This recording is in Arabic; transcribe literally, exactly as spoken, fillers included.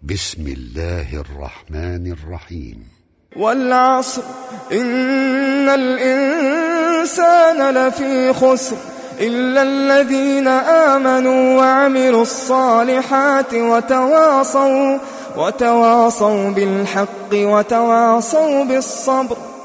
بسم الله الرحمن الرحيم. والعصر إن الإنسان لفي خسر إلا الذين آمنوا وعملوا الصالحات وتواصوا وتواصوا بالحق وتواصوا بالصبر